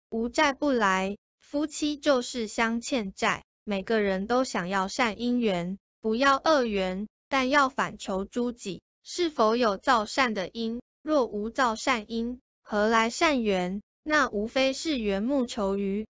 无债不来，夫妻就是相欠债，每个人都想要善因缘，不要恶缘，但要反求诸己，是否有造善的因？若无造善因，何来善缘？那无非是缘木求鱼，